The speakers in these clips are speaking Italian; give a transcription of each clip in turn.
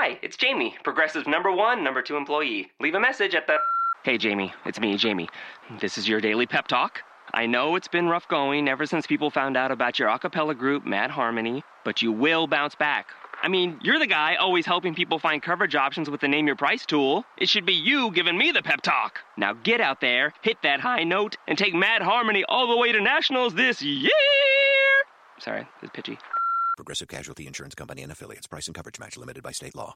Hi, it's Jamie, Progressive's #1, #2 employee. Leave a message at the... Hey, Jamie, it's me, Jamie. This is your daily pep talk. I know it's been rough going ever since people found out about your a cappella group, Mad Harmony, but you will bounce back. I mean, you're the guy always helping people find coverage options with the Name Your Price tool. It should be you giving me the pep talk. Now get out there, hit that high note, and take Mad Harmony all the way to nationals this year! Sorry, it's pitchy. Progressive Casualty Insurance Company and Affiliates. Price and coverage match limited by state law.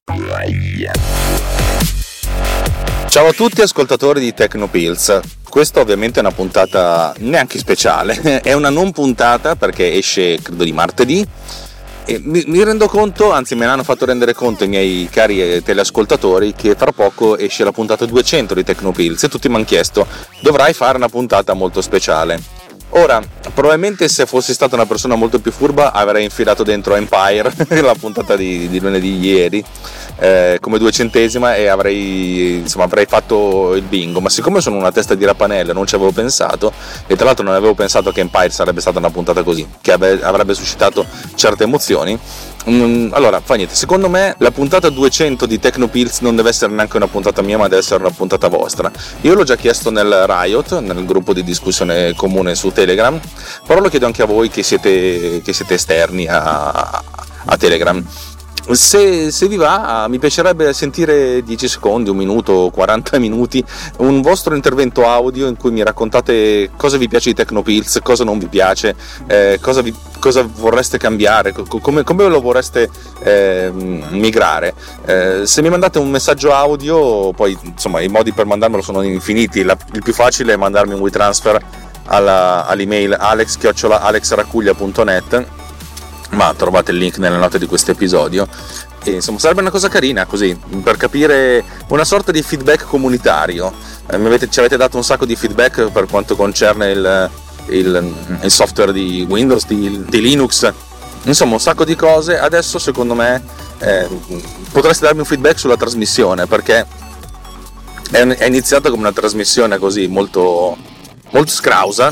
Ciao a tutti ascoltatori di Tecnopills. Questa ovviamente è una puntata neanche speciale, è una non puntata perché esce credo di martedì e mi rendo conto, anzi me ne hanno fatto rendere conto i miei cari teleascoltatori che tra poco esce la puntata 200 di Tecnopills e tutti mi hanno chiesto: dovrai fare una puntata molto speciale. Ora, probabilmente se fossi stata una persona molto più furba avrei infilato dentro Empire, la puntata di lunedì ieri, come 200esima e avrei fatto il bingo, ma siccome sono una testa di rapanello non ci avevo pensato, e tra l'altro non avevo pensato che Empire sarebbe stata una puntata così, che avrebbe suscitato certe emozioni, allora fa niente. Secondo me la puntata 200 di Tecnopills non deve essere neanche una puntata mia, ma deve essere una puntata vostra. Io l'ho già chiesto nel Riot, nel gruppo di discussione comune su Telegram, però lo chiedo anche a voi che siete esterni a Telegram. Se vi va, mi piacerebbe sentire 10 secondi, 1 minuto, 40 minuti, un vostro intervento audio in cui mi raccontate cosa vi piace di Tecnopills, cosa non vi piace, cosa vorreste cambiare, come lo vorreste migrare. Se mi mandate un messaggio audio, poi insomma i modi per mandarmelo sono infiniti. Il più facile è mandarmi un WeTransfer all'email alex@alexracuglia.net, ma trovate il link nelle note di questo episodio. E insomma sarebbe una cosa carina così, per capire, una sorta di feedback comunitario. Ci avete dato un sacco di feedback per quanto concerne il software di Windows, di Linux, insomma un sacco di cose. Adesso secondo me potreste darmi un feedback sulla trasmissione, perché è iniziata come una trasmissione così molto, molto scrausa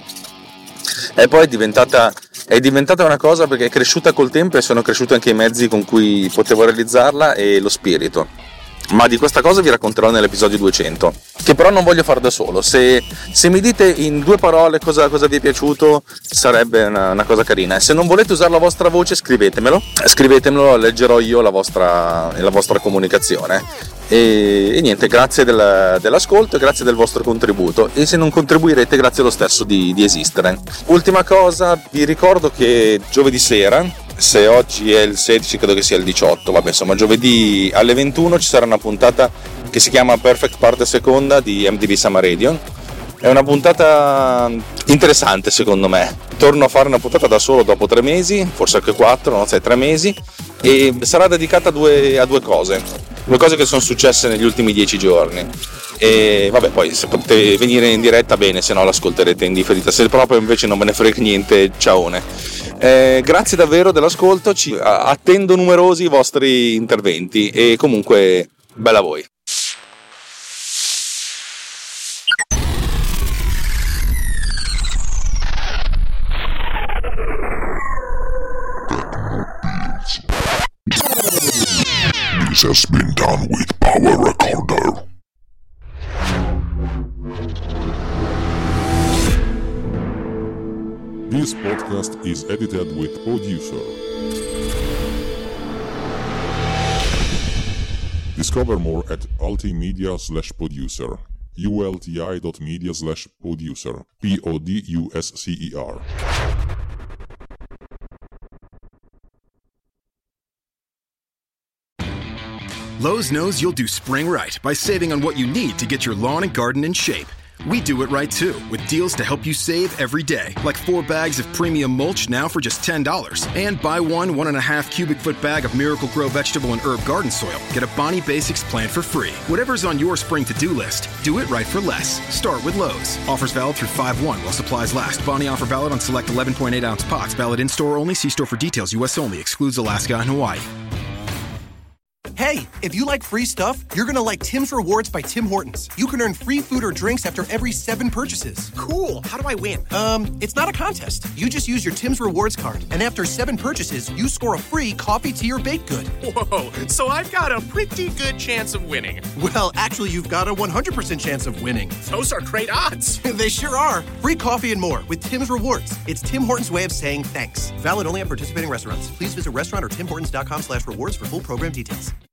e poi è diventata una cosa perché è cresciuta col tempo e sono cresciuti anche i mezzi con cui potevo realizzarla e lo spirito. Ma di questa cosa vi racconterò nell'episodio 200, che però non voglio fare da solo. Se mi dite in 2 parole cosa vi è piaciuto, sarebbe una cosa carina. E se non volete usare la vostra voce, scrivetemelo, leggerò io la vostra comunicazione. E niente, grazie dell'ascolto e grazie del vostro contributo, e se non contribuirete, grazie lo stesso di esistere. Ultima cosa, vi ricordo che giovedì sera, se oggi è il 16 credo che sia il 18, vabbè insomma giovedì alle 21 ci sarà una puntata che si chiama Perfect Parte Seconda di MTV Summer Radio. È una puntata interessante secondo me. Torno a fare una puntata da solo dopo 3 mesi, forse anche 4, non so, 3 mesi, e sarà dedicata a due cose che sono successe negli ultimi 10 giorni. E vabbè, poi se potete venire in diretta bene, se no l'ascolterete in differita, se proprio invece non me ne frega niente, ciaone. Grazie davvero dell'ascolto, attendo numerosi i vostri interventi e comunque bella a voi. This has been done with Power Recorder. This podcast is edited with Producer. Discover more at ultimedia/producer. ulti.media/producer. PODUSCER. Lowe's knows you'll do spring right by saving on what you need to get your lawn and garden in shape. We do it right too, with deals to help you save every day, like 4 bags of premium mulch now for just $10. And buy 1.5 cubic foot bag of Miracle-Gro vegetable and herb garden soil. Get a Bonnie Basics plant for free. Whatever's on your spring to-do list, do it right for less. Start with Lowe's. Offers valid through 5/1 while supplies last. Bonnie offer valid on select 11.8-ounce pots. Valid in-store only. See store for details. U.S. only. Excludes Alaska and Hawaii. Hey, if you like free stuff, you're gonna like Tim's Rewards by Tim Hortons. You can earn free food or drinks after every 7 purchases. Cool. How do I win? It's not a contest. You just use your Tim's Rewards card, and after 7 purchases, you score a free coffee, tea, or baked good. Whoa, so I've got a pretty good chance of winning. Well, actually, you've got a 100% chance of winning. Those are great odds. They sure are. Free coffee and more with Tim's Rewards. It's Tim Hortons' way of saying thanks. Valid only at participating restaurants. Please visit restaurant or timhortons.com/rewards for full program details.